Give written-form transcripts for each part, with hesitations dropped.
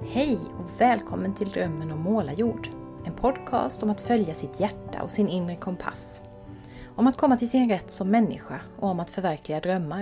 Hej och välkommen till Drömmen om målarjord. En podcast om att följa sitt hjärta och sin inre kompass. Om att komma till sin rätt som människa och om att förverkliga drömmar.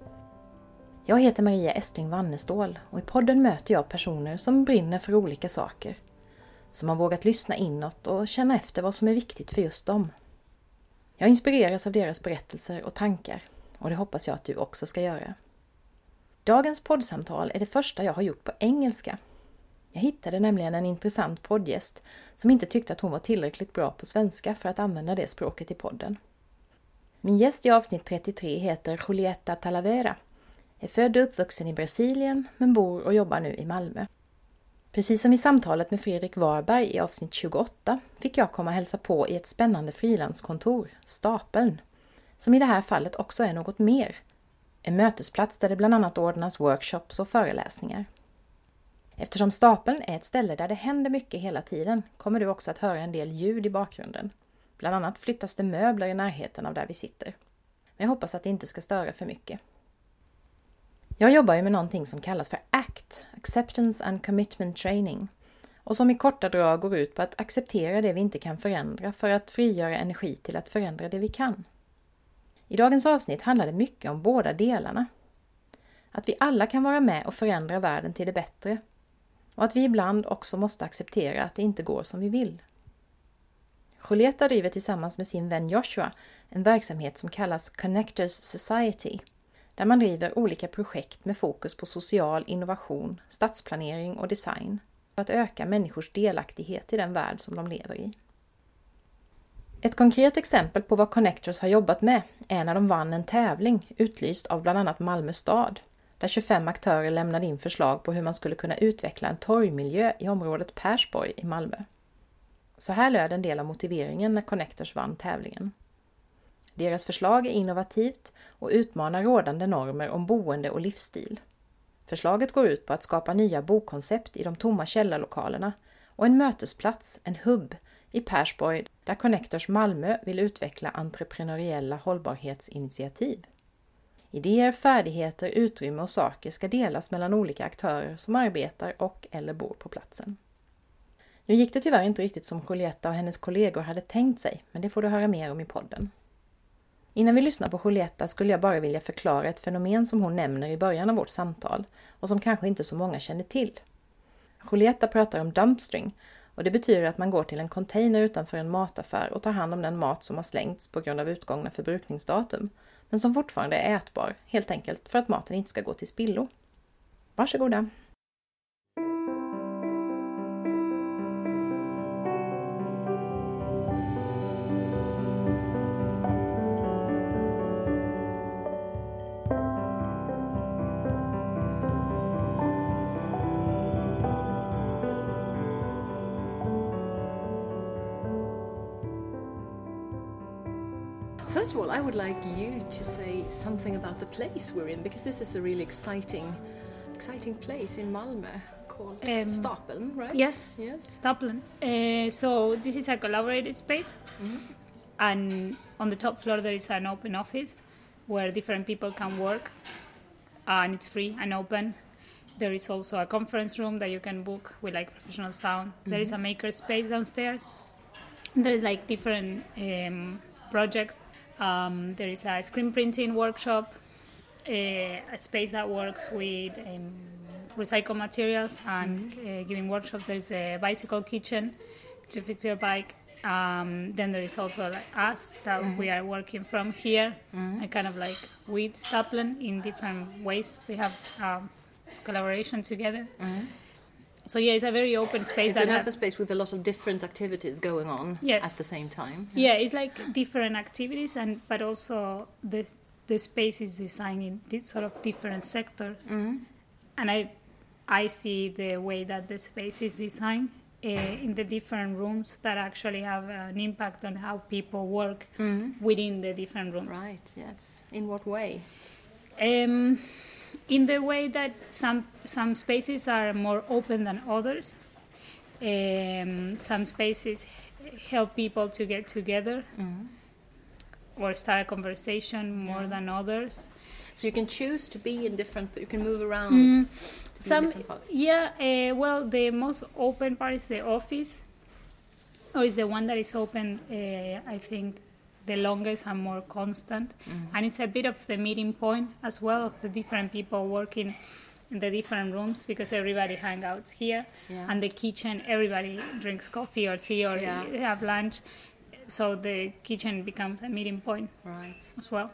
Jag heter Maria Estling Wannestål och i podden möter jag personer som brinner för olika saker. Som har vågat lyssna inåt och känna efter vad som är viktigt för just dem. Jag inspireras av deras berättelser och tankar och det hoppas jag att du också ska göra. Dagens poddsamtal är det första jag har gjort på engelska. Jag hittade nämligen en intressant poddgäst som inte tyckte att hon var tillräckligt bra på svenska för att använda det språket i podden. Min gäst i avsnitt 33 heter Julieta Talavera. Är född och uppvuxen i Brasilien men bor och jobbar nu i Malmö. Precis som i samtalet med Fredrik Warberg i avsnitt 28 fick jag komma och hälsa på i ett spännande frilanskontor, Stapeln, som i det här fallet också är något mer. En mötesplats där det bland annat ordnas workshops och föreläsningar. Eftersom Stapeln är ett ställe där det händer mycket hela tiden kommer du också att höra en del ljud i bakgrunden. Bland annat flyttas det möbler i närheten av där vi sitter. Men jag hoppas att det inte ska störa för mycket. Jag jobbar ju med någonting som kallas för ACT, Acceptance and Commitment Training. Och som i korta drag går ut på att acceptera det vi inte kan förändra för att frigöra energi till att förändra det vi kan. I dagens avsnitt handlar det mycket om båda delarna. Att vi alla kan vara med och förändra världen till det bättre. Och att vi ibland också måste acceptera att det inte går som vi vill. Julieta driver tillsammans med sin vän Joshua en verksamhet som kallas Connectors Society. Där man driver olika projekt med fokus på social innovation, stadsplanering och design. För att öka människors delaktighet i den värld som de lever i. Ett konkret exempel på vad Connectors har jobbat med är när de vann en tävling utlyst av bland annat Malmö stad. Där 25 aktörer lämnade in förslag på hur man skulle kunna utveckla en torgmiljö i området Persborg i Malmö. Så här löd en del av motiveringen när Connectors vann tävlingen. Deras förslag är innovativt och utmanar rådande normer om boende och livsstil. Förslaget går ut på att skapa nya bokoncept i de tomma källarlokalerna och en mötesplats, en hubb, i Persborg där Connectors Malmö vill utveckla entreprenöriella hållbarhetsinitiativ. Idéer, färdigheter, utrymme och saker ska delas mellan olika aktörer som arbetar och eller bor på platsen. Nu gick det tyvärr inte riktigt som Julieta och hennes kollegor hade tänkt sig, men det får du höra mer om i podden. Innan vi lyssnar på Julieta skulle jag bara vilja förklara ett fenomen som hon nämner i början av vårt samtal och som kanske inte så många känner till. Julieta pratar om dumpstring och det betyder att man går till en container utanför en mataffär och tar hand om den mat som har slängts på grund av utgångna förbrukningsdatum, men som fortfarande är ätbar, helt enkelt för att maten inte ska gå till spillo. Varsågoda! First of all, I would like you to say something about the place we're in, because this is a really exciting place in Malmö called Stapeln, right? Yes. Stapeln. So this is a collaborated space, and on the top floor there is an open office where different people can work, and it's free and open. There is also a conference room that you can book with like professional sound. There is a maker space downstairs. There is like different projects. There is a screen printing workshop, a space that works with recycled materials and giving workshops. There's a bicycle kitchen to fix your bike. Then there is also like us that we are working from here, and kind of like with Stapeln in different ways. We have collaboration together. So yeah, it's a very open space. It's an open space with a lot of different activities going on at the same time. Yes. Yeah, it's like different activities, but also the space is designed in sort of different sectors. And I see the way that the space is designed in the different rooms that actually have an impact on how people work within the different rooms. Right. Yes. In what way? In the way that some spaces are more open than others. Some spaces help people to get together or start a conversation more than others. So you can choose to be in different, you can move around to be in different parts. Yeah, well, the most open part is the office, or is the one that is open, I think, the longest and more constant. And it's a bit of the meeting point as well of the different people working in the different rooms, because everybody hangs out here. And the kitchen, everybody drinks coffee or tea or have lunch. So the kitchen becomes a meeting point as well.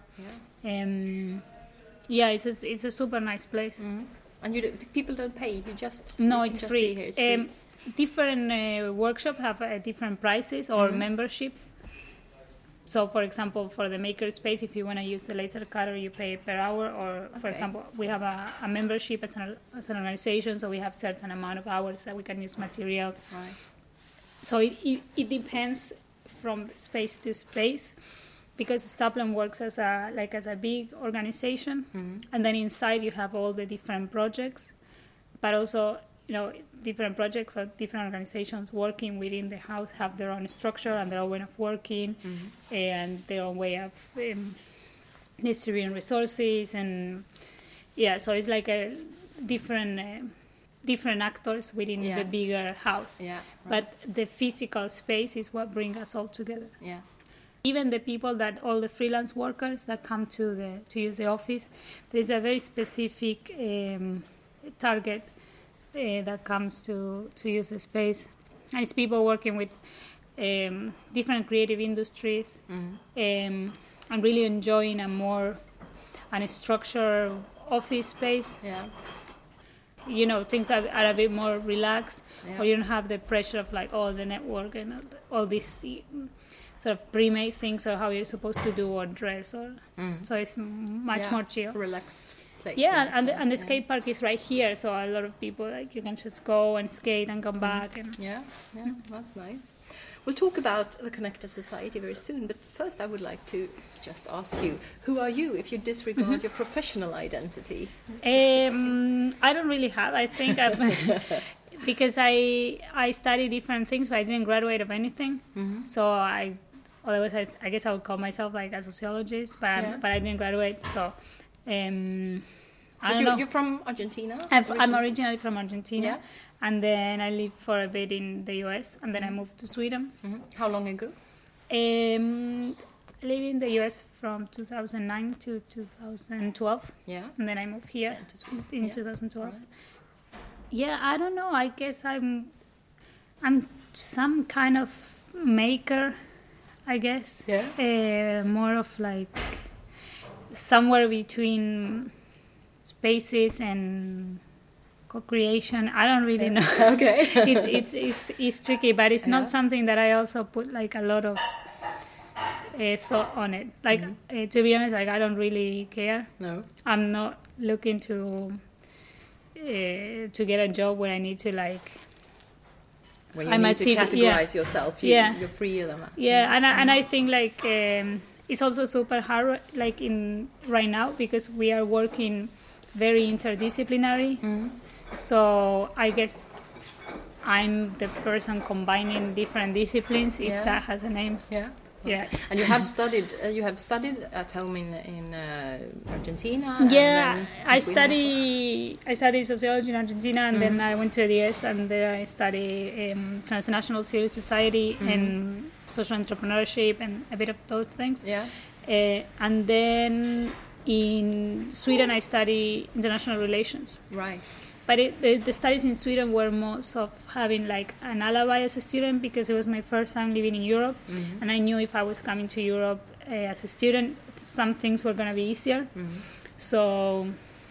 It's a super nice place. And people don't pay, you just... No, you it's just free. Be here. It's free. Different workshops have different prices or memberships. So, for example, for the makerspace, if you want to use the laser cutter, you pay per hour. Or, for example, we have a membership as an organization, so we have certain amount of hours that we can use materials. So it depends from space to space, because Staplen works as a big organization, and then inside you have all the different projects, but also, different projects or different organizations working within the house have their own structure and their own way of working and their own way of distributing resources. And so it's like a different actors within the bigger house. But the physical space is what brings us all together. Even the people all the freelance workers that come to use the office, there's a very specific target that comes to use the space. And it's people working with different creative industries and really enjoying a structured office space. Things are a bit more relaxed, or you don't have the pressure of the network and all these sort of pre-made things, or how you're supposed to do or dress, so it's much more chill, relaxed place. And the skate park is right here, so a lot of people you can just go and skate and come back. And That's nice. We'll talk about the Connector Society very soon, but first I would like to just ask you, who are you if you disregard your professional identity? I don't really have. I think because I study different things, but I didn't graduate of anything. So I guess I would call myself a sociologist, but I didn't graduate. So I don't know. You're from Argentina? I'm originally from Argentina, and then I lived for a bit in the US, and then I moved to Sweden. How long ago? I lived in the US from 2009 to 2012. And then I moved here in 2012. I don't know. I guess I'm some kind of maker, I guess. More of somewhere between spaces and co-creation. I don't really know. Okay. It's tricky, but it's not something that I also put a lot of thought on it. To be honest, I don't really care. No. I'm not looking to get a job where I need to when you need to categorize yourself, you're freer than that. And I think it's also super hard right now, because we are working very interdisciplinary. So I guess I'm the person combining different disciplines, if that has a name. And you have studied at home in Argentina. I studied sociology in Argentina, and then I went to the US, and there I studied transnational civil society and social entrepreneurship and a bit of those things. And then in Sweden I studied international relations. But the studies in Sweden were most of having an alibi as a student, because it was my first time living in Europe, and I knew if I was coming to Europe as a student, some things were going to be easier. So,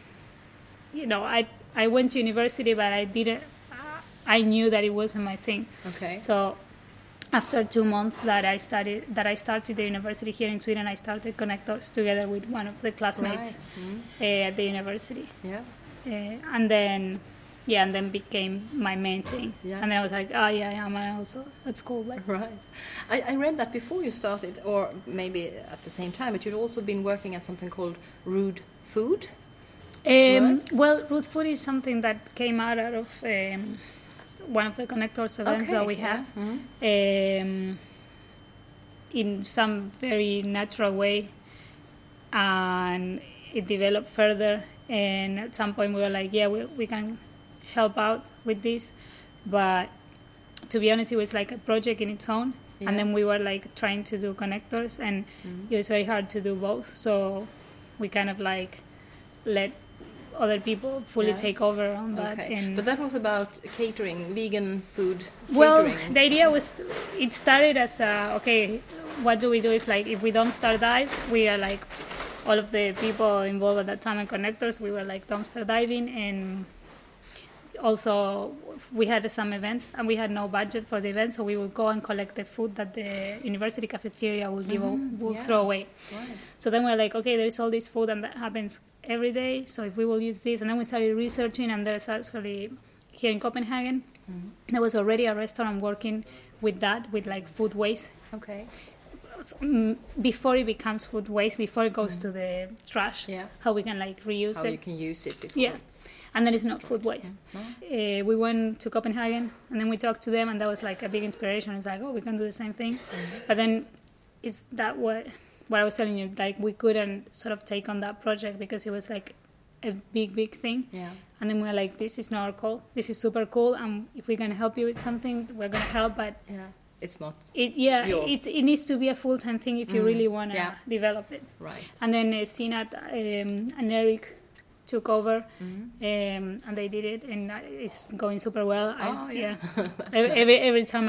I went to university, but I knew that it wasn't my thing. So after 2 months that I started the university here in Sweden, I started Connectors together with one of the classmates at the university. And then became my main thing. And then I was like, I'm also, that's cool. I read that before you started, or maybe at the same time, but you'd also been working at something called Rude Food. Well, Rude Food is something that came out of one of the Connectors events that we have. In some very natural way, and it developed further, and at some point we were like, yeah, we can help out with this, but to be honest, it was like a project in its own. Yeah. And then we were like trying to do connectors, and it was very hard to do both. So we kind of like let other people fully take over on that. Okay. But that was about catering, vegan food well, catering. The idea was, it started as what do we do if we dumpster dive? We are like, all of the people involved at that time in connectors, we were like dumpster diving, and also we had some events and we had no budget for the event, so we would go and collect the food that the university cafeteria would throw away. Right. So then we're like, okay, there's all this food and that happens every day, so if we will use this, and then we started researching, and there's actually here in Copenhagen there was already a restaurant working with that, with like food waste. Okay. So, before it becomes food waste, before it goes to the trash, how we can like reuse it. How you can use it before it's and then it's not food waste. We went to Copenhagen, and then we talked to them, and that was like a big inspiration. It's like, oh, we can do the same thing. But then is that what I was telling you, like we couldn't sort of take on that project because it was like a big thing. Yeah. And then we were like, this is not our call. This is super cool, and if we can help you with something, we're going to help, but it's not. It needs to be a full-time thing if you really want to develop it. Right. And then Sinat and Eric took over, and they did it, and it's going super well. Every time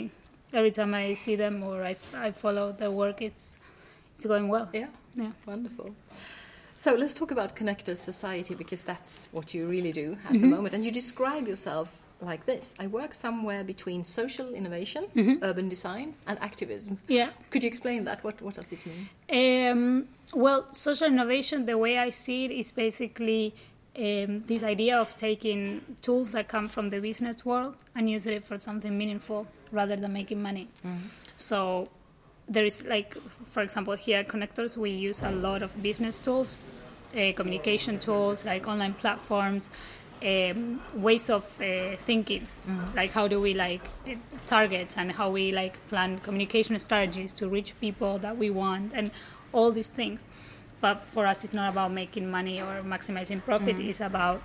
I see them or I follow their work, it's going well. Yeah. Wonderful. So let's talk about Connectors Society, because that's what you really do at the moment, and you describe yourself like this: I work somewhere between social innovation, urban design, and activism. Yeah. Could you explain that? What does it mean? Well, social innovation, the way I see it, is basically this idea of taking tools that come from the business world and using it for something meaningful rather than making money. So there is, like, for example, here at Connectors, we use a lot of business tools, communication tools, like online platforms, ways of thinking, like how do we target, and how we plan communication strategies to reach people that we want, and all these things. But for us, it's not about making money or maximizing profit. It's about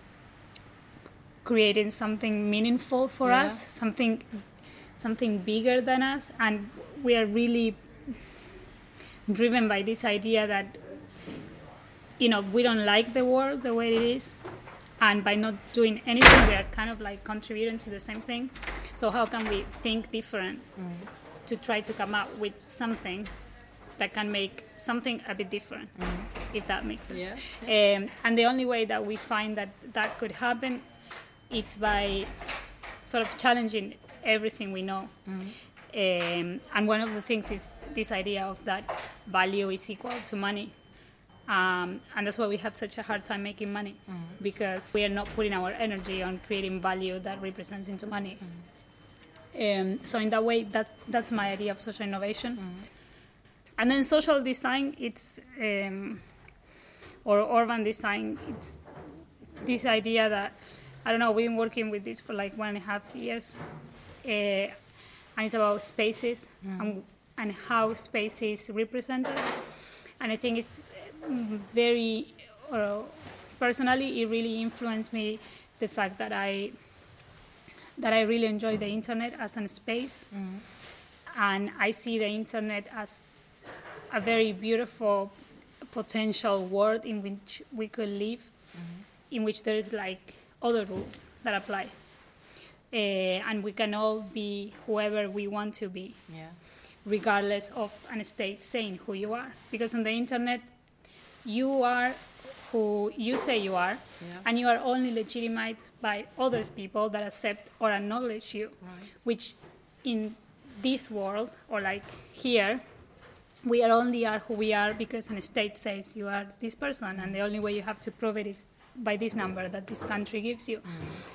creating something meaningful for us, something bigger than us, and we are really driven by this idea that we don't like the world the way it is. And by not doing anything, we are kind of contributing to the same thing. So how can we think different to try to come up with something that can make something a bit different, if that makes sense? Yes. And the only way that we find that could happen is by sort of challenging everything we know. And one of the things is this idea of that value is equal to money. And that's why we have such a hard time making money, because we are not putting our energy on creating value that represents into money. So in that way, that's my idea of social innovation. And then social design, it's or urban design, it's this idea that, I don't know, we've been working with this for 1.5 years, and it's about spaces and how spaces represent us. And I think it's very, personally, it really influenced me, the fact that I really enjoy the internet as a space, and I see the internet as a very beautiful potential world in which we could live, in which there is other rules that apply, and we can all be whoever we want to be, regardless of an state saying who you are, because on the internet you are who you say you are, and you are only legitimized by other people that accept or acknowledge you, which in this world, or here, we only are who we are because an state says you are this person, and the only way you have to prove it is by this number that this country gives you.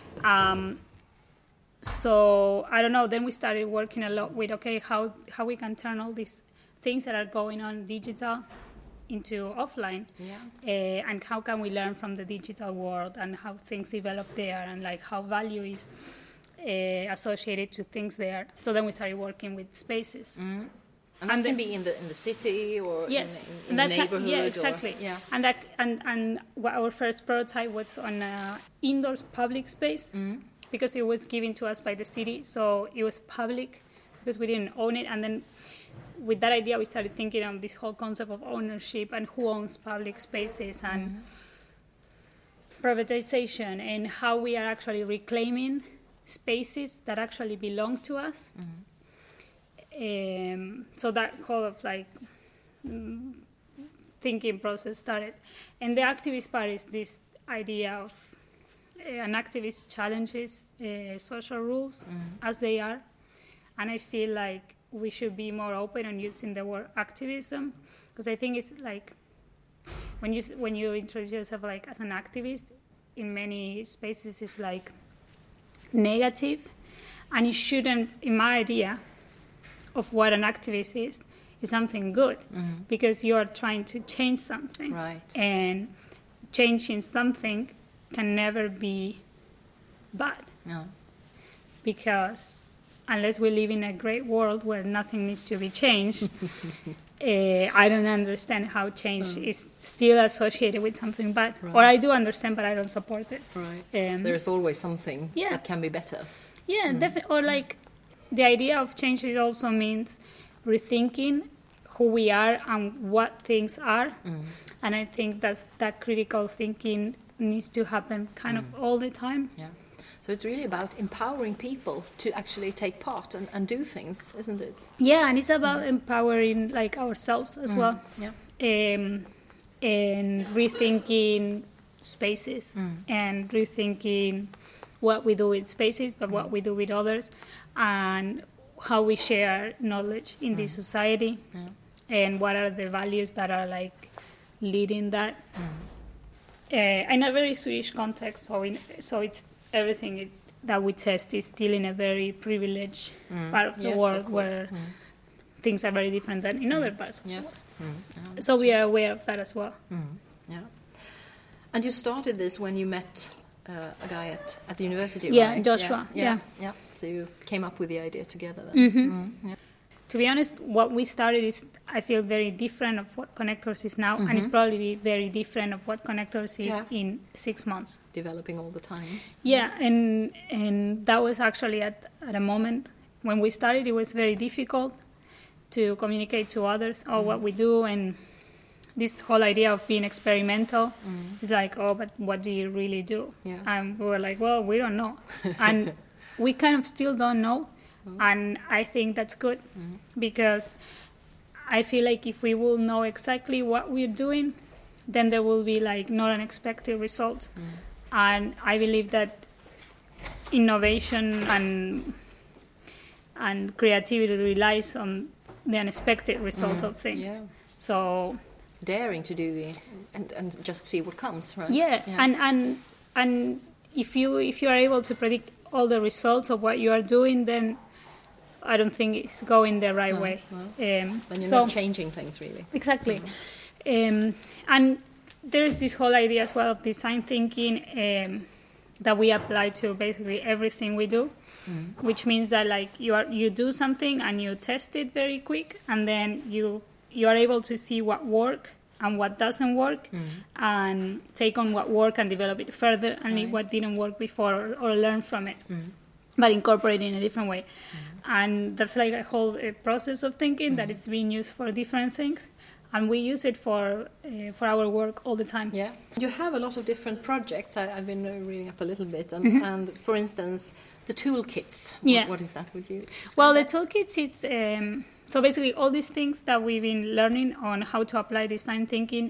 So I don't know, then we started working a lot with, how we can turn all these things that are going on digital into offline, and how can we learn from the digital world and how things develop there, and how value is associated to things there. So then we started working with spaces. And that can be in the city or yes, in the neighborhood. Yeah, exactly. Yeah. And our first prototype was on an indoor public space because it was given to us by the city, so it was public because we didn't own it. And then with that idea, we started thinking of this whole concept of ownership and who owns public spaces and privatization and how we are actually reclaiming spaces that actually belong to us. So that whole of thinking process started. And the activist part is this idea of an activist challenges social rules as they are. And I feel like we should be more open on using the word activism, because I think it's like when you introduce yourself like as an activist, in many spaces it's like negative, and it shouldn't, in my idea of what an activist is something good, because you are trying to change something. Right. And changing something can never be bad. No. Because unless we live in a great world where nothing needs to be changed, I don't understand how change is still associated with something bad. Right. Or I do understand, but I don't support it. Right. There's always something that can be better. Yeah, definitely. Or like the idea of change, it also means rethinking who we are and what things are. And I think that critical thinking needs to happen kind of all the time. Yeah. So it's really about empowering people to actually take part and do things, isn't it? Yeah, and it's about empowering like ourselves as well. Yeah. And rethinking spaces and rethinking what we do with spaces, but what we do with others, and how we share knowledge in this society, and what are the values that are like leading that. In a very Swedish context, so it's everything that we test is still in a very privileged part of the world where things are very different than in other parts. Yes. So we are aware of that as well. Yeah. And you started this when you met a guy at the university, Yeah, right? Joshua. Yeah. So you came up with the idea together then. Yeah. To be honest, what we started is, I feel, very different of what Connectors is now, and it's probably very different of what Connectors is in 6 months. Developing all the time. Yeah, and that was actually at a moment when we started, it was very difficult to communicate to others what we do, and this whole idea of being experimental is like, but what do you really do? Yeah. And we were like, well, we don't know. And we kind of still don't know. And I think that's good because I feel like if we will know exactly what we're doing, then there will be like not unexpected results. And I believe that innovation and creativity relies on the unexpected results of things. Yeah. So daring to do and just see what comes, right? Yeah. And if you are able to predict all the results of what you are doing, then I don't think it's going the right way. Then you're not changing things, really. Exactly. And there's this whole idea as well of design thinking that we apply to basically everything we do, which means that like you do something and you test it very quick, and then you are able to see what works and what doesn't work, and take on what worked and develop it further, and leave what didn't work before or learn from it. But incorporate it in a different way. And that's like a whole process of thinking that it's being used for different things. And we use it for our work all the time. Yeah. You have a lot of different projects. I've been reading up a little bit. And for instance, the toolkits. What is that? Would you describe Well, that? the toolkits, it's... so basically all these things that we've been learning on how to apply design thinking,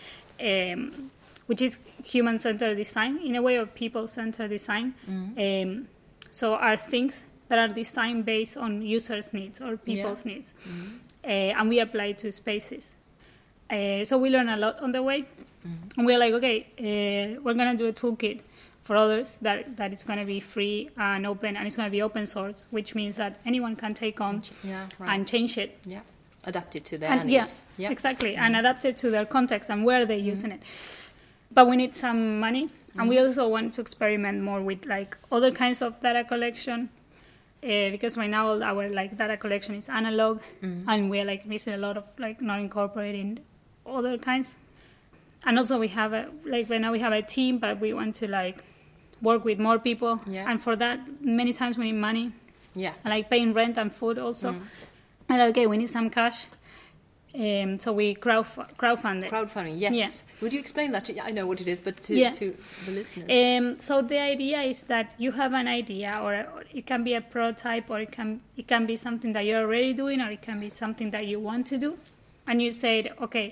which is human-centered design, in a way of people-centered design. So are things that are designed based on users' needs or people's needs. And we apply it to spaces. So we learn a lot on the way. And we're like, okay, we're going to do a toolkit for others that it's going to be free and open, and it's going to be open source, which means that anyone can take on and change it. Yeah, adapt it to their needs. Yeah, exactly, and adapt it to their context and where they're using it. But we need some money, and we also want to experiment more with like other kinds of data collection. because right now all our like data collection is analog, and we're like missing a lot of like not incorporating other kinds. And also we have right now we have a team, but we want to like work with more people, and for that many times we need money. Yeah. And like paying rent and food also. And okay, we need some cash. So we crowdfunded. Crowdfunding, yes. Yeah. Would you explain that? I know what it is, but to the listeners. So the idea is that you have an idea, or it can be a prototype, or it can be something that you're already doing, or it can be something that you want to do. And you said, okay,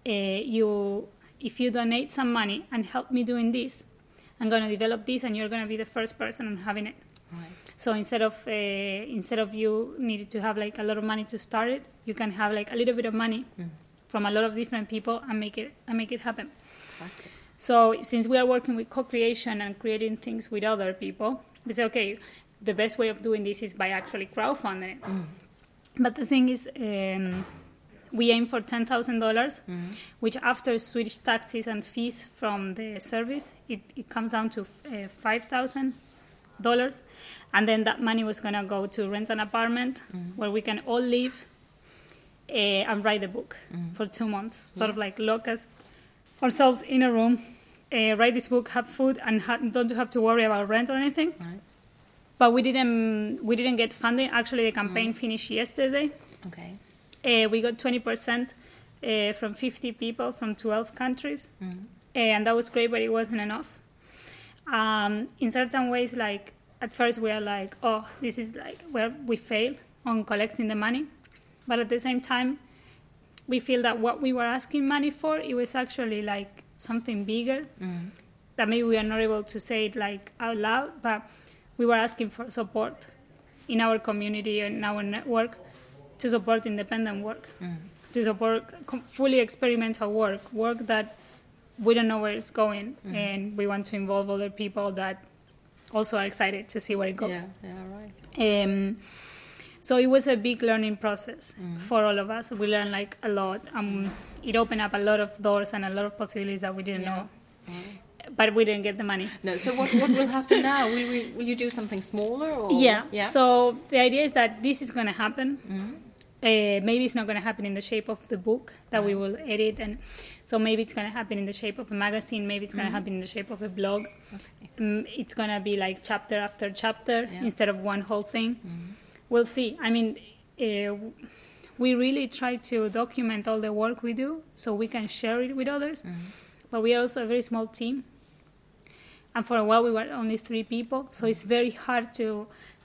if you donate some money and help me doing this, I'm going to develop this, and you're going to be the first person on having it. Right. So instead of you needed to have like a lot of money to start it, you can have like a little bit of money from a lot of different people and make it happen. Exactly. So since we are working with co-creation and creating things with other people, we say, okay, the best way of doing this is by actually crowdfunding it. But the thing is, we aim for $10,000, which after Swedish taxes and fees from the service, it comes down to $5,000. And then that money was going to go to rent an apartment where we can all live and write the book for 2 months. Sort of like lock us ourselves in a room, write this book, have food, and don't have to worry about rent or anything. Right. But we didn't get funding. Actually, the campaign finished yesterday. Okay. We got 20% from 50 people from 12 countries. And that was great, but it wasn't enough. In certain ways, like at first we are like, oh, this is like where we fail on collecting the money. But at the same time, we feel that what we were asking money for, it was actually like something bigger that maybe we are not able to say it like out loud, but we were asking for support in our community and in our network to support independent work, to support fully experimental work that we don't know where it's going, and we want to involve other people that also are excited to see where it goes. Yeah, right. So it was a big learning process for all of us. We learned like a lot. It opened up a lot of doors and a lot of possibilities that we didn't know. But we didn't get the money. No. So what will happen now? Will you do something smaller? Or? Yeah. So the idea is that this is going to happen. Maybe it's not going to happen in the shape of the book that we will edit, and so maybe it's going to happen in the shape of a magazine. Maybe it's going to happen in the shape of a blog. It's going to be like chapter after chapter instead of one whole thing. We'll see. I mean, we really try to document all the work we do so we can share it with others. But we are also a very small team, and for a while we were only 3 people. So it's very hard to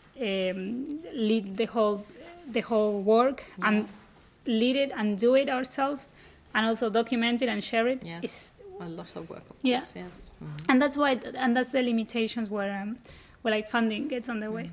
lead the whole work and lead it and do it ourselves, and also document it and share it. Yes, it's a lot of work, of yeah. course, yes. And that's why, and that's the limitations where like funding gets on the way.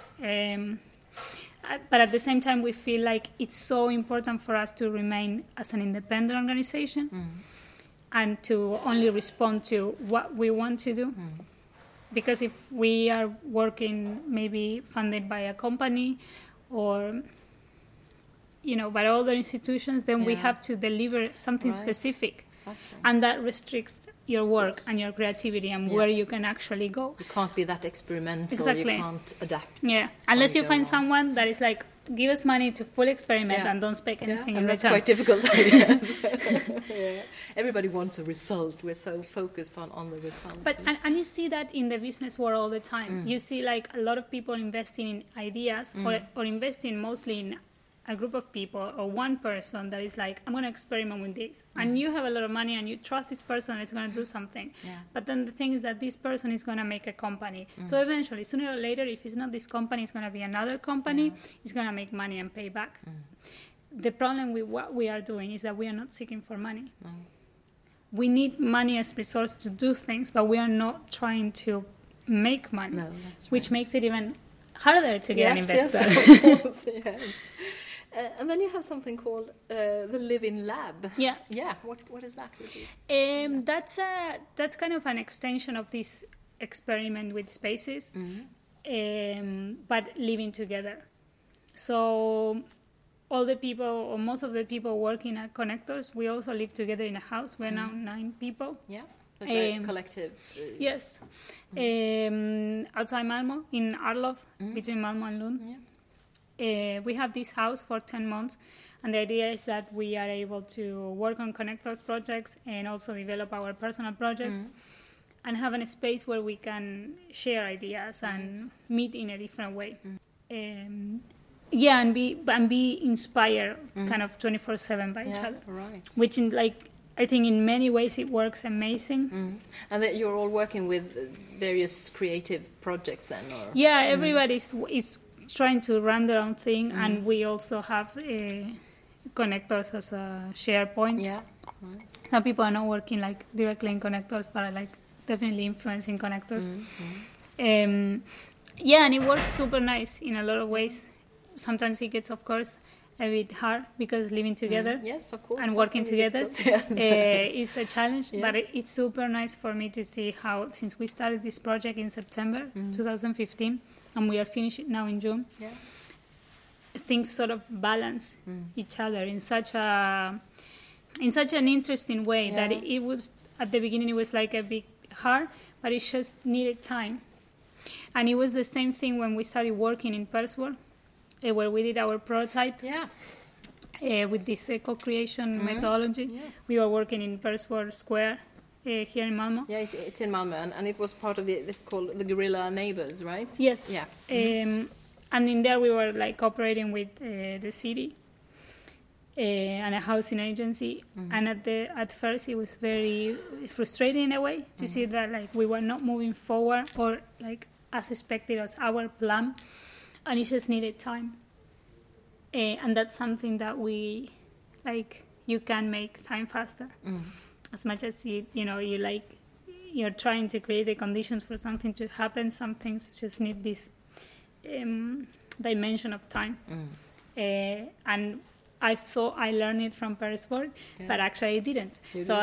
But at the same time, we feel like it's so important for us to remain as an independent organization and to only respond to what we want to do. Because if we are working maybe funded by a company or by other institutions, then we have to deliver something specific. Exactly. And that restricts your work and your creativity and where you can actually go. You can't be that experimental. Exactly. You can't adapt. Yeah, unless you find someone that is like, give us money to fully experiment and don't expect anything in that's return. Quite difficult, yes. Everybody wants a result. We're so focused on the result. But and you see that in the business world all the time. You see like a lot of people investing in ideas or investing mostly in a group of people or one person that is like, I'm going to experiment with this. And you have a lot of money and you trust this person and it's going to do something. But then the thing is that this person is going to make a company. So eventually, sooner or later, if it's not this company, it's going to be another company. It's going to make money and pay back. The problem with what we are doing is that we are not seeking for money. We need money as resource to do things, but we are not trying to make money, No, that's right. which makes it even harder to get an investor. Yes, of course, yes. And then you have something called the Living Lab. Yeah. Yeah. What is that? That's kind of an extension of this experiment with spaces, but living together. So all the people, or most of the people working at Connectors, we also live together in a house. We're now 9 people. Yeah. Like collective. Yes. Outside Malmo, in Arlov, between Malmo and Lund. Yeah. We have this house for 10 months, and the idea is that we are able to work on Connectors projects and also develop our personal projects and have a space where we can share ideas and meet in a different way. And be inspired kind of 24/7 by each other. Right. Which I think in many ways it works amazing. And that you're all working with various creative projects then, or? Yeah, everybody is trying to run their own thing, and we also have Connectors as a share point. Yeah. Right. Some people are not working like directly in Connectors, but are like definitely influencing Connectors. And it works super nice in a lot of ways. Sometimes it gets, of course, a bit hard because living together Yes, of course, and working together is a challenge. Yes. But it's super nice for me to see how, since we started this project in September 2015, and we are finishing now in June, things sort of balance each other in such an interesting way that it was, at the beginning, it was like a bit hard, but it just needed time. And it was the same thing when we started working in Persworld, where we did our prototype with this co-creation methodology. Yeah. We were working in Persworld Square here in Malmo. Yeah, it's in Malmo, and it was part of it's called the Guerrilla Neighbors, right? Yes. Yeah. And in there we were like cooperating with the city and a housing agency. And at first it was very frustrating in a way to see that like we were not moving forward or like as expected as our plan, and it just needed time. And that's something that we like. You can make time faster, as much as you're trying to create the conditions for something to happen. Some things just need this dimension of time. And I thought I learned it from Persworld, but actually I didn't.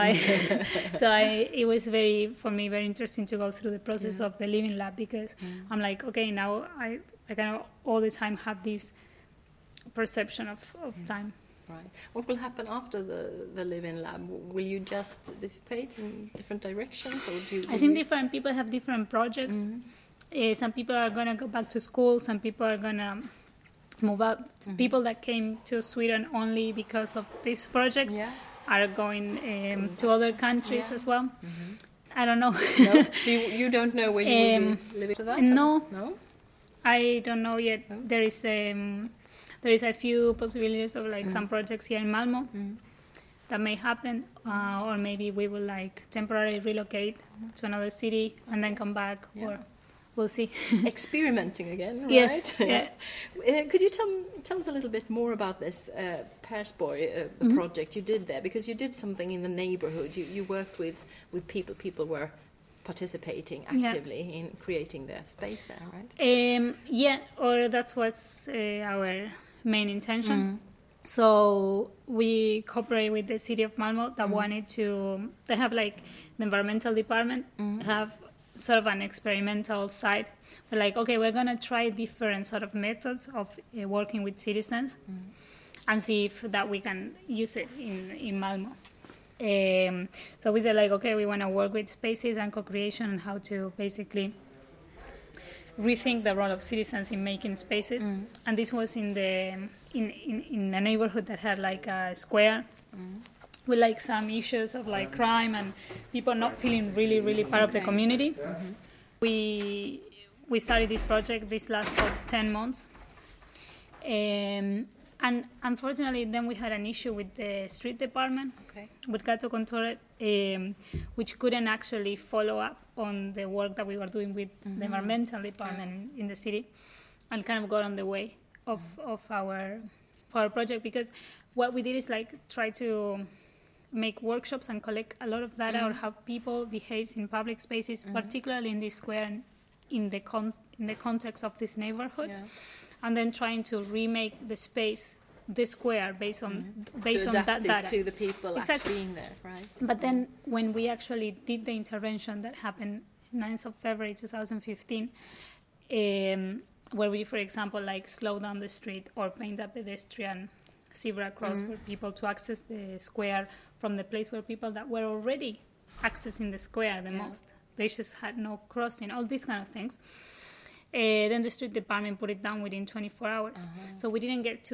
It was for me very interesting to go through the process of the Living Lab, because I'm like, okay, now I kind of all the time have this perception of time. Right. What will happen after the Living Lab? Will you just dissipate in different directions, or do you? I think different people have different projects. Some people are going to go back to school. Some people are going to move up. People that came to Sweden only because of this project are going to other countries as well. I don't know. No? So you don't know where you will be living to that? No. No? I don't know yet. No? There is a few possibilities of like some projects here in Malmo that may happen, or maybe we will like temporarily relocate to another city and then come back, or we'll see. Experimenting again, right? Yes. Could you tell us a little bit more about this Persborg project you did there? Because you did something in the neighborhood. You worked with people. People were participating actively in creating their space there, right? Or that was our main intention. So we cooperate with the city of Malmo that wanted to. They have like the environmental department have sort of an experimental side. We're like, okay, we're gonna try different sort of methods of working with citizens and see if that we can use it in Malmo. So we said like, okay, we want to work with spaces and co-creation and how to basically rethink the role of citizens in making spaces. And this was in a neighborhood that had like a square with like some issues of like crime and people not feeling really, really part of the community. We started this project. This lasted for 10 months. And unfortunately, then we had an issue with the street department, with Gatukontoret, which couldn't actually follow up on the work that we were doing with the environmental department in the city, and kind of got on the way of our project, because what we did is like try to make workshops and collect a lot of data on how people behaves in public spaces, particularly in this square and in the context of this neighborhood. And then trying to remake the space, the square, based on that data to the people actually being there, right? But then when we actually did the intervention that happened 9th of February 2015, where we, for example, like slow down the street or paint a pedestrian zebra cross for people to access the square from the place where people that were already accessing the square the most. They just had no crossing, all these kind of things. Then the street department put it down within 24 hours. So we didn't get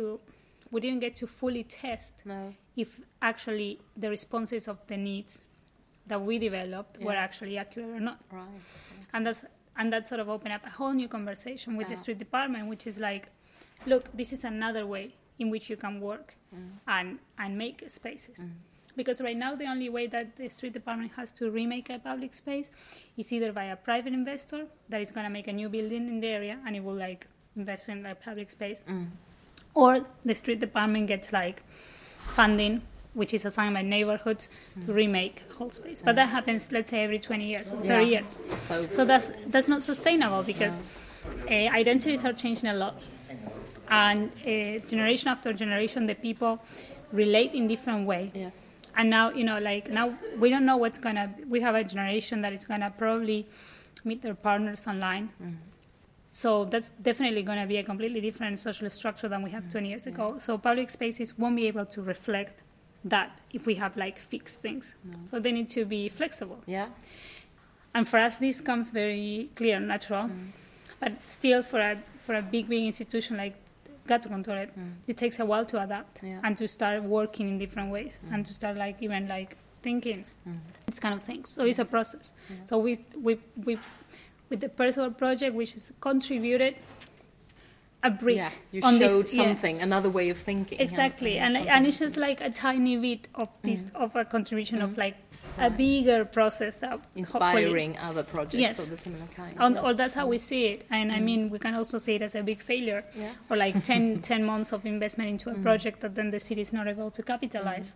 to fully test if actually the responses of the needs that we developed were actually accurate or not. Right. Okay. And that sort of opened up a whole new conversation with the street department, which is like, look, this is another way in which you can work and make spaces. Because right now the only way that the street department has to remake a public space is either by a private investor that is going to make a new building in the area and it will like invest in like public space, or the street department gets like funding which is assigned by neighborhoods to remake whole space. But that happens, let's say, every 20 years or 30 years. So that's not sustainable because identities are changing a lot. And generation after generation, the people relate in different way. Yes. And now, now we don't know what's going to... We have a generation that is going to probably meet their partners online. So that's definitely going to be a completely different social structure than we had 20 years ago. So public spaces won't be able to reflect that if we have like fixed things. So they need to be flexible. Yeah. And for us, this comes very clear and natural. But still, for a big institution like Gato Contorret, it takes a while to adapt and to start working in different ways and to start like even like thinking these kind of things. So it's a process. So we with the Percival project, which is contributed a brick. Yeah, you on showed this, something, another way of thinking. Exactly, and it's just like a tiny bit of this of a contribution of like a bigger process that inspiring other projects of the similar kind. Or that's how we see it, and I mean we can also see it as a big failure, or like 10 months of investment into a project that then the city is not able to capitalize.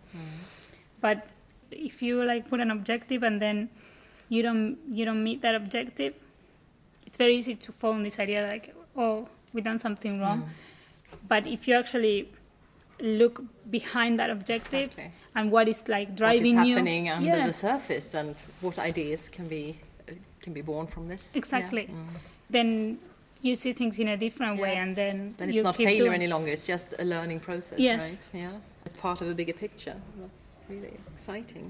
But if you like put an objective and then you don't meet that objective, it's very easy to fall in this idea like, oh, we've done something wrong. But if you actually look behind that objective and what is like driving what is you, happening under the surface, and what ideas can be born from this. Exactly. Then you see things in a different way, and then it's you not keep failure doing. any longer. It's just a learning process, Yes. right? Yeah, it's part of a bigger picture. That's really exciting.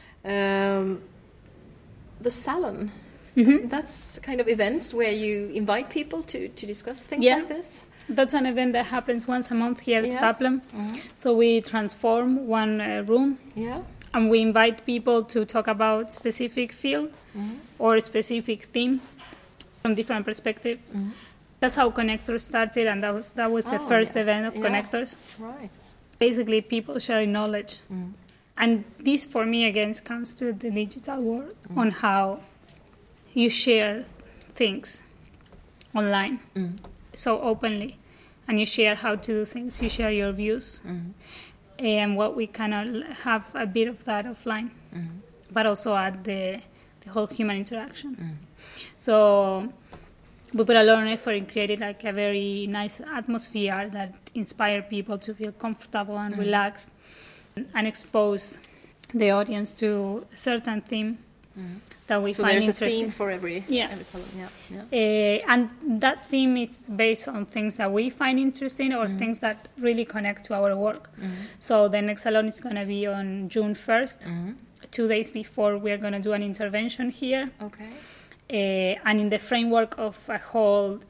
The salon. That's kind of events where you invite people to discuss things like this? That's an event that happens once a month here at Staplem. So we transform one room and we invite people to talk about specific field or a specific theme from different perspectives. That's how Connectors started, and that was the first event of Connectors. Right. Basically, people sharing knowledge. And this, for me, again, comes to the digital world on how you share things online so openly, and you share how to do things, you share your views, and what we cannot have a bit of that offline, but also at the whole human interaction. So we put a lot of effort in creating like a very nice atmosphere that inspire people to feel comfortable and relaxed, and expose the audience to a certain theme that we find interesting. So there's a theme for every salon. And that theme is based on things that we find interesting or things that really connect to our work. So the next salon is going to be on June 1st. 2 days before, we're going to do an intervention here. Okay. And in the framework of a whole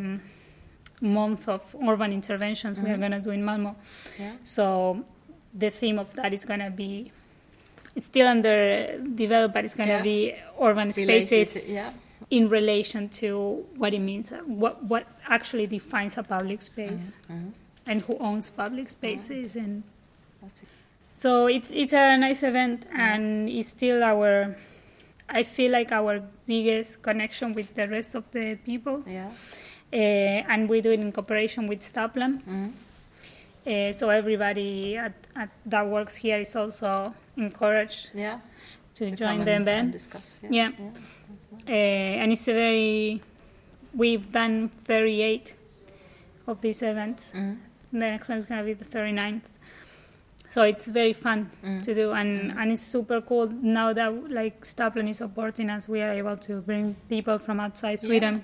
month of urban interventions we are going to do in Malmö. So the theme of that is going to be, it's still under developed, but it's going to be urban spaces in relation to what it means, what actually defines a public space, and who owns public spaces. And so it's a nice event, and it's still I feel like our biggest connection with the rest of the people. And we do it in cooperation with Staplem. So everybody that works here is also encouraged to join the event and discuss. And it's we've done 38 of these events. The next one is going to be the 39th. So it's very fun to do, and it's super cool now that like Staplem is supporting us. We are able to bring people from outside Sweden,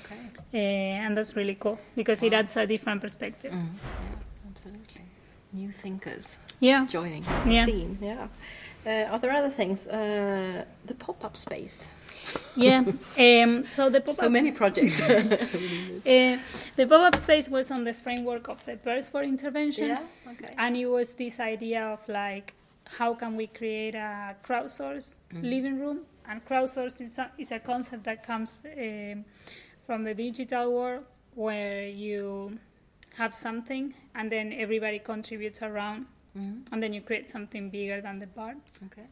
and that's really cool because it adds a different perspective. Absolutely. New thinkers joining the scene. Are there other things? The pop-up space. Yeah. So the pop-up. So many projects. The pop-up space was on the framework of the Birthboard intervention. Yeah. Okay. And it was this idea of like, how can we create a crowdsourced living room? And crowdsourced is a concept that comes from the digital world, where you have something and then everybody contributes around, and then you create something bigger than the parts. Okay.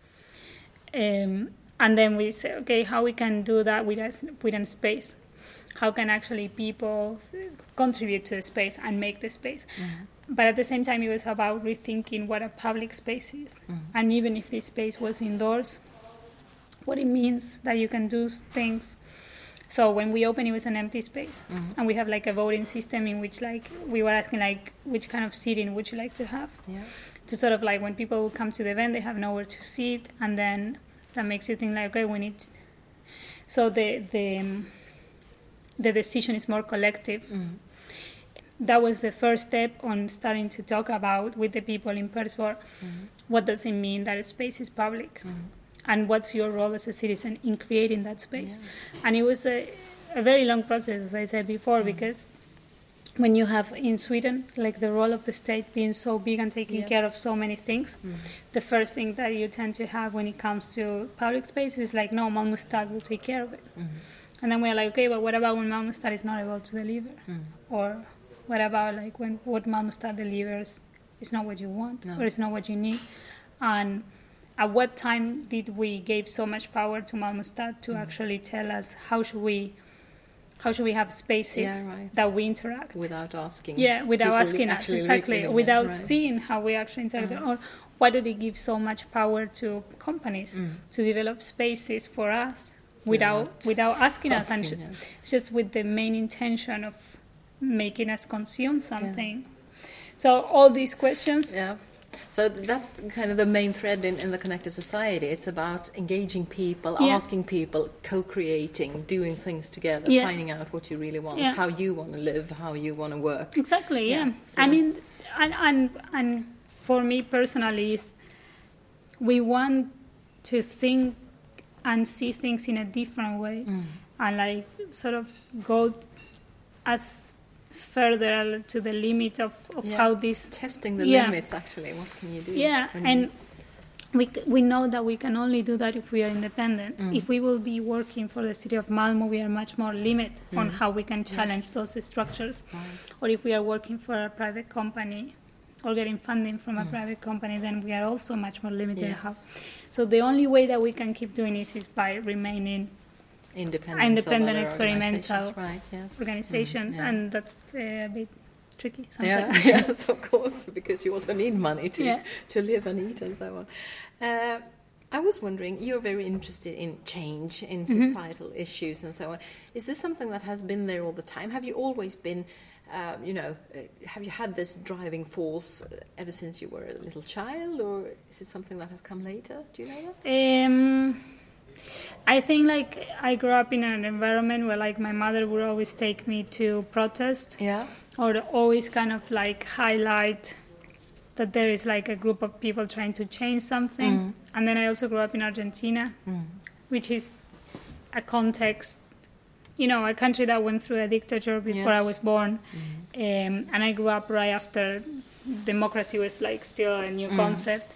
And then we say, okay, how we can do that within space? How can actually people contribute to the space and make the space? But at the same time, it was about rethinking what a public space is. And even if this space was indoors, what it means that you can do things. So when we opened, it was an empty space. And we have like a voting system in which like we were asking like, which kind of seating would you like to have? Yeah. To sort of like when people come to the event, they have nowhere to sit. And then that makes you think like, okay, we need... So the decision is more collective. That was the first step on starting to talk about with the people in Birthboard, what does it mean that a space is public? And what's your role as a citizen in creating that space? And it was a very long process, as I said before, because when you have in Sweden, like the role of the state being so big and taking care of so many things, the first thing that you tend to have when it comes to public space is like, no, Malmö Stad will take care of it. And then we're like, okay, but what about when Malmö Stad is not able to deliver? Or what about like when what Malmö Stad delivers is not what you want, or it's not what you need? And at what time did we give so much power to Malmö Stad to actually tell us how should we have spaces that we interact without asking? Yeah, without asking us, exactly, without right. seeing how we actually interact. Or why do they give so much power to companies to develop spaces for us without asking us, and just with the main intention of making us consume something? So all these questions. Yeah. So that's kind of the main thread in the Connected Society. It's about engaging people, asking people, co-creating, doing things together, finding out what you really want, how you want to live, how you want to work. Exactly, yeah. So I mean, and for me personally, we want to think and see things in a different way, and like sort of go as further to the limit of how this... Testing the limits, actually. What can you do? Yeah, and we know that we can only do that if we are independent. If we will be working for the city of Malmö, we are much more limited on how we can challenge those structures. Right. Or if we are working for a private company or getting funding from a private company, then we are also much more limited in how. So the only way that we can keep doing this is by remaining independent experimental organization, and that's a bit tricky sometimes. Yes, of course, because you also need money to live and eat and so on. I was wondering, you're very interested in change, in societal issues and so on. Is this something that has been there all the time? Have you always been, have you had this driving force ever since you were a little child, or is it something that has come later? Do you know that? I think like I grew up in an environment where like my mother would always take me to protest, or always kind of like highlight that there is like a group of people trying to change something. And then I also grew up in Argentina, which is a context, a country that went through a dictature before I was born, and I grew up right after democracy was like still a new concept,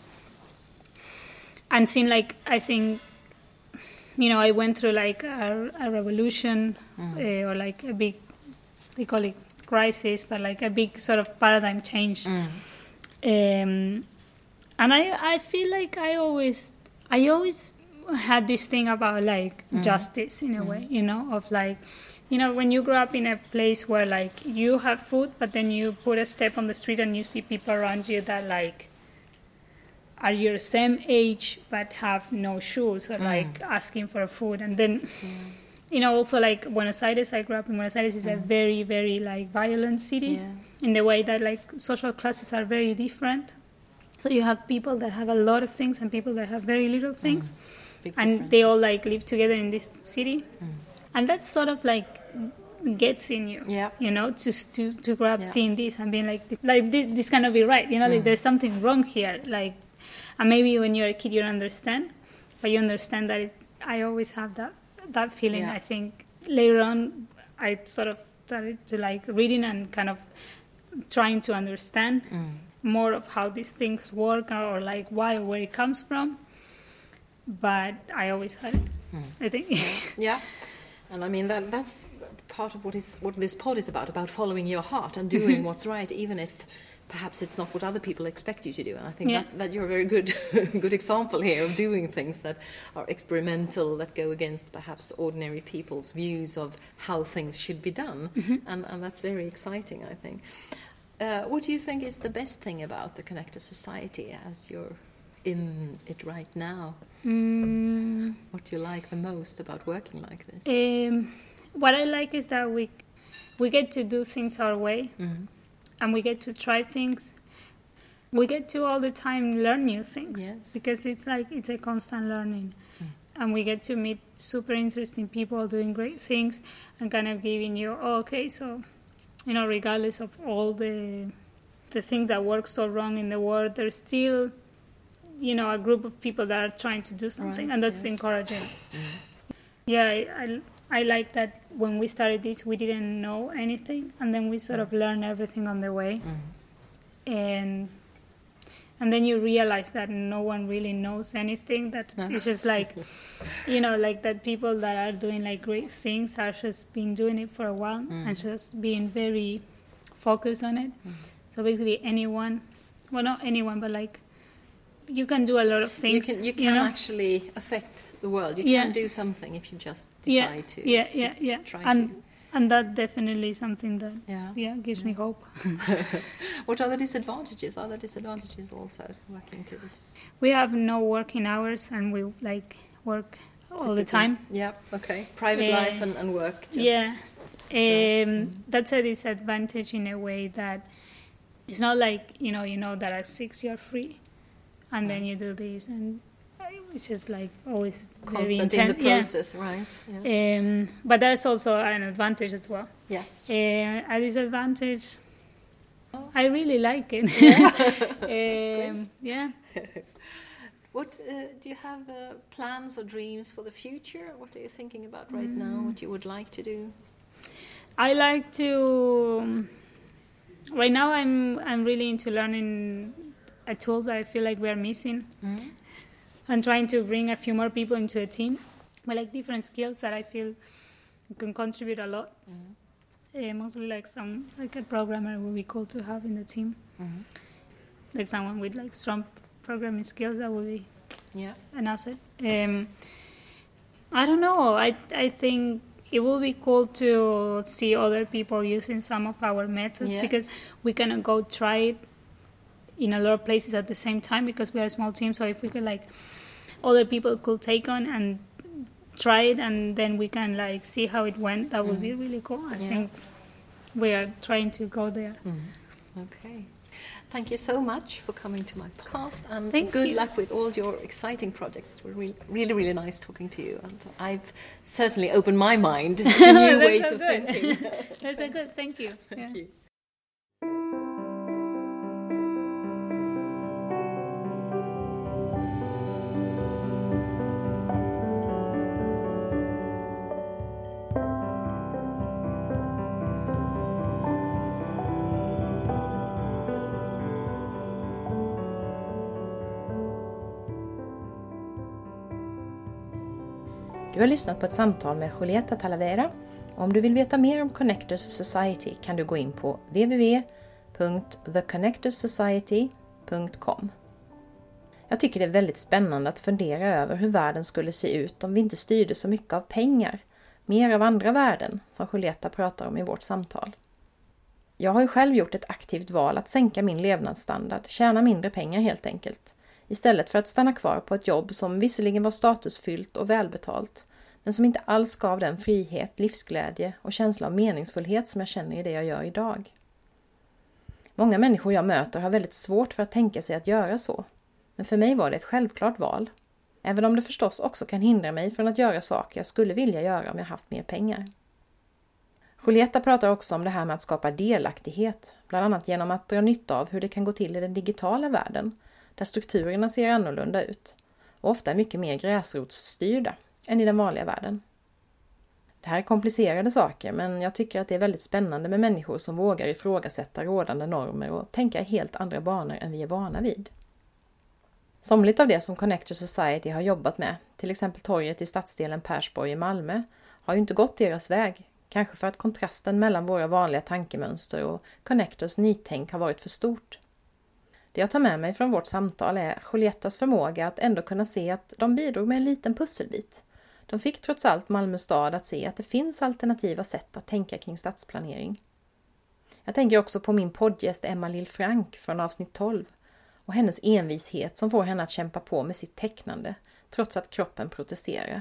and seeing like I think. I went through like a revolution or like a big, they call it crisis, but like a big sort of paradigm change. And I feel like I always had this thing about like justice in a way, of like, when you grow up in a place where like you have food, but then you put a step on the street and you see people around you that like are your same age but have no shoes, or like asking for food. And then also like Buenos Aires, I grew up in Buenos Aires, is a very, very like violent city in the way that like social classes are very different. So you have people that have a lot of things and people that have very little things, and they all like live together in this city, and that sort of like gets in you, just to grow up seeing this and being like this cannot be right, like there's something wrong here, like And maybe when you're a kid, you don't understand, but you understand that I always have that feeling. Yeah. I think later on, I sort of started to like reading and kind of trying to understand more of how these things work or like why or where it comes from. But I always had it, I think. Yeah. And I mean, that's part of what this pod is about following your heart and doing what's right, even if perhaps it's not what other people expect you to do. And I think that you're a very good example here of doing things that are experimental, that go against perhaps ordinary people's views of how things should be done. And that's very exciting, I think. What do you think is the best thing about the Connector Society as you're in it right now? What do you like the most about working like this? What I like is that we get to do things our way, and we get to try things. We get to all the time learn new things, because it's a constant learning. And we get to meet super interesting people doing great things and kind of giving you, so, regardless of all the things that work so wrong in the world, there's still, a group of people that are trying to do something, and that's encouraging. Yeah, I like that when we started this, we didn't know anything, and then we sort of learned everything on the way. And then you realize that no one really knows anything, that it's just like, like that people that are doing like great things are just been doing it for a while and just being very focused on it. So basically anyone, well, not anyone, but like you can do a lot of things. You can actually affect the world. You can do something if you just decide to try to. And that definitely is something that gives me hope. What are the disadvantages? Are there disadvantages also to working to this? We have no working hours, and we like work all the time. Yeah, okay. Private life and work. That's a disadvantage in a way that it's not like, that at 6 you're free, and then you do this, and it's just like always constant in the process, right? Yes. But that's also an advantage as well. Yes. A disadvantage, I really like it. Yeah. What do you have plans or dreams for the future? What are you thinking about right now? What you would like to do? I like to. Right now, I'm really into learning tools that I feel like we are missing. And trying to bring a few more people into a team with like different skills that I feel can contribute a lot. Mostly like a programmer would be cool to have in the team. Like someone with like strong programming skills, that would be an asset. I don't know. I think it will be cool to see other people using some of our methods because we can go try it in a lot of places at the same time, because we are a small team. So if we could like other people could take on and try it, and then we can like see how it went, that would be really cool. I think we are trying to go there. Okay. Thank you so much for coming to my podcast, and good luck with all your exciting projects. It was really, really nice talking to you, and I've certainly opened my mind to new ways of thinking. That's so good. Thank you. Thank you. Du har lyssnat på ett samtal med Julieta Talavera. Om du vill veta mer om Connectors Society kan du gå in på www.theconnectorsociety.com. Jag tycker det är väldigt spännande att fundera över hur världen skulle se ut om vi inte styrde så mycket av pengar, mer av andra värden som Julieta pratar om i vårt samtal. Jag har ju själv gjort ett aktivt val att sänka min levnadsstandard, tjäna mindre pengar helt enkelt, istället för att stanna kvar på ett jobb som visserligen var statusfyllt och välbetalt, men som inte alls gav den frihet, livsglädje och känsla av meningsfullhet som jag känner i det jag gör idag. Många människor jag möter har väldigt svårt för att tänka sig att göra så, men för mig var det ett självklart val, även om det förstås också kan hindra mig från att göra saker jag skulle vilja göra om jag haft mer pengar. Julieta pratar också om det här med att skapa delaktighet, bland annat genom att dra nytta av hur det kan gå till i den digitala världen, där strukturerna ser annorlunda ut och ofta är mycket mer gräsrotsstyrda än i den vanliga världen. Det här är komplicerade saker, men jag tycker att det är väldigt spännande med människor som vågar ifrågasätta rådande normer och tänka i helt andra banor än vi är vana vid. Somligt av det som Connector Society har jobbat med, till exempel torget i stadsdelen Persborg i Malmö, har ju inte gått deras väg, kanske för att kontrasten mellan våra vanliga tankemönster och Connectors nytänk har varit för stort. Det jag tar med mig från vårt samtal är Julietas förmåga att ändå kunna se att de bidrog med en liten pusselbit. De fick trots allt Malmö stad att se att det finns alternativa sätt att tänka kring stadsplanering. Jag tänker också på min poddgäst Emma Lill-Frank från avsnitt 12 och hennes envishet som får henne att kämpa på med sitt tecknande trots att kroppen protesterar.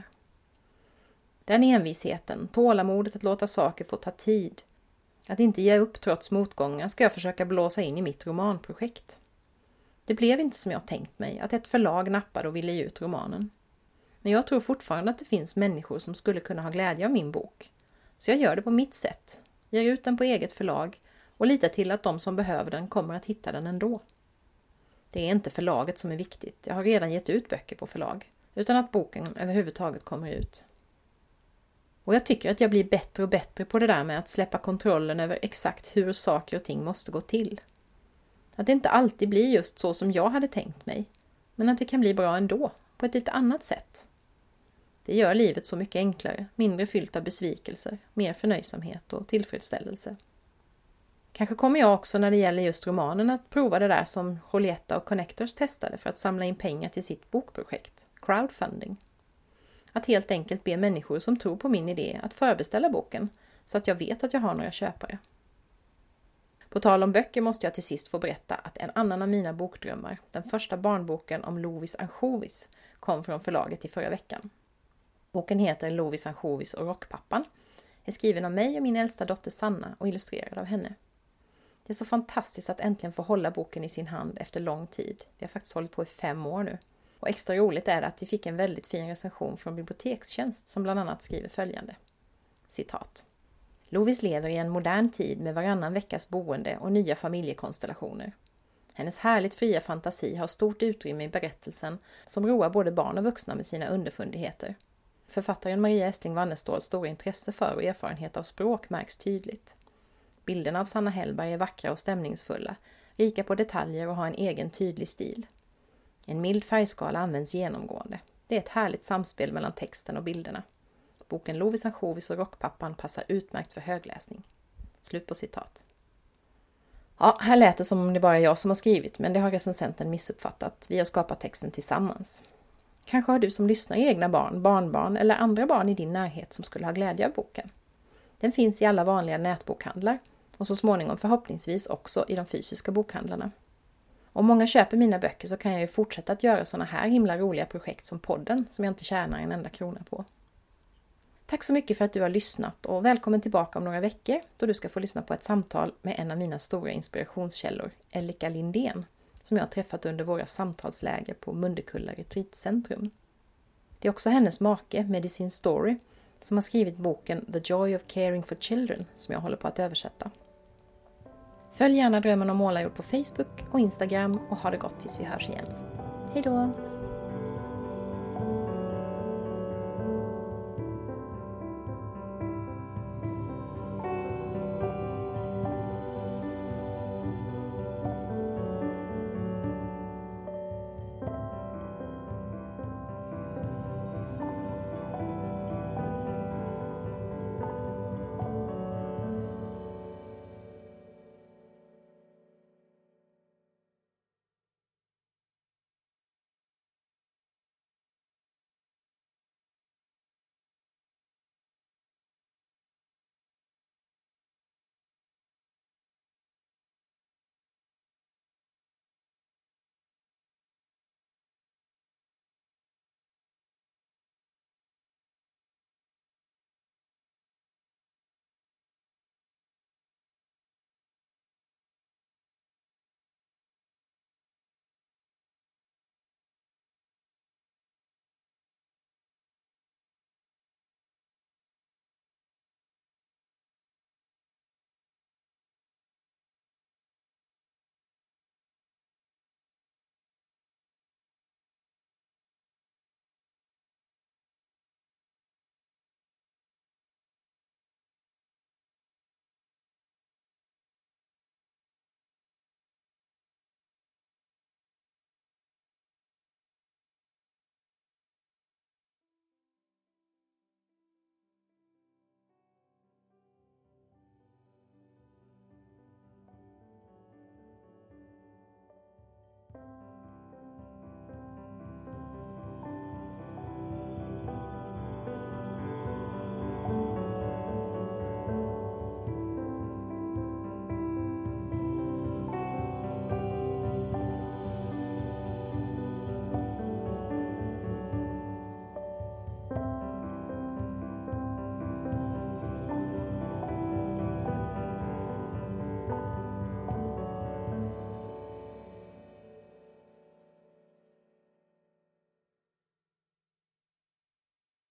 Den envisheten, tålamodet att låta saker få ta tid, att inte ge upp trots motgångar ska jag försöka blåsa in i mitt romanprojekt. Det blev inte som jag tänkt mig, att ett förlag nappade och ville ge ut romanen. Men jag tror fortfarande att det finns människor som skulle kunna ha glädje av min bok. Så jag gör det på mitt sätt, ger ut den på eget förlag och litar till att de som behöver den kommer att hitta den ändå. Det är inte förlaget som är viktigt, jag har redan gett ut böcker på förlag, utan att boken överhuvudtaget kommer ut. Och jag tycker att jag blir bättre och bättre på det där med att släppa kontrollen över exakt hur saker och ting måste gå till. Att det inte alltid blir just så som jag hade tänkt mig, men att det kan bli bra ändå, på ett lite annat sätt. Det gör livet så mycket enklare, mindre fyllt av besvikelser, mer förnöjsamhet och tillfredsställelse. Kanske kommer jag också när det gäller just romanen att prova det där som Julieta och Connectors testade för att samla in pengar till sitt bokprojekt, crowdfunding. Att helt enkelt be människor som tror på min idé att förbeställa boken så att jag vet att jag har några köpare. På tal om böcker måste jag till sist få berätta att en annan av mina bokdrömmar, den första barnboken om Lovis ansjovis, kom från förlaget i förra veckan. Boken heter Lovis ansjovis och rockpappan, är skriven av mig och min äldsta dotter Sanna och illustrerad av henne. Det är så fantastiskt att äntligen få hålla boken i sin hand efter lång tid. Vi har faktiskt hållit på i 5 år nu. Och extra roligt är det att vi fick en väldigt fin recension från Bibliotekstjänst som bland annat skriver följande. Citat. Lovis lever i en modern tid med varannan veckas boende och nya familjekonstellationer. Hennes härligt fria fantasi har stort utrymme i berättelsen som roar både barn och vuxna med sina underfundigheter. Författaren Maria Estling Wanneståls stora intresse för och erfarenhet av språk märks tydligt. Bilderna av Sanna Hellberg är vackra och stämningsfulla, rika på detaljer och har en egen tydlig stil. En mild färgskala används genomgående. Det är ett härligt samspel mellan texten och bilderna. Boken Lovis ansjovis och rockpappan passar utmärkt för högläsning. Slut på citat. Ja, här lät det som om det bara är jag som har skrivit, men det har recensenten missuppfattat. Vi har skapat texten tillsammans. Kanske har du som lyssnar egna barn, barnbarn eller andra barn i din närhet som skulle ha glädje av boken. Den finns i alla vanliga nätbokhandlar och så småningom förhoppningsvis också i de fysiska bokhandlarna. Om många köper mina böcker så kan jag ju fortsätta att göra såna här himla roliga projekt som podden som jag inte tjänar en enda krona på. Tack så mycket för att du har lyssnat och välkommen tillbaka om några veckor då du ska få lyssna på ett samtal med en av mina stora inspirationskällor, Ellika Lindén, som jag har träffat under våra samtalsläger på Mundekulla Retreatcentrum. Det är också hennes make, Medicine Story, som har skrivit boken The Joy of Caring for Children som jag håller på att översätta. Följ gärna Drömmen om målarjord på Facebook och Instagram och ha det gott tills vi hörs igen. Hej då!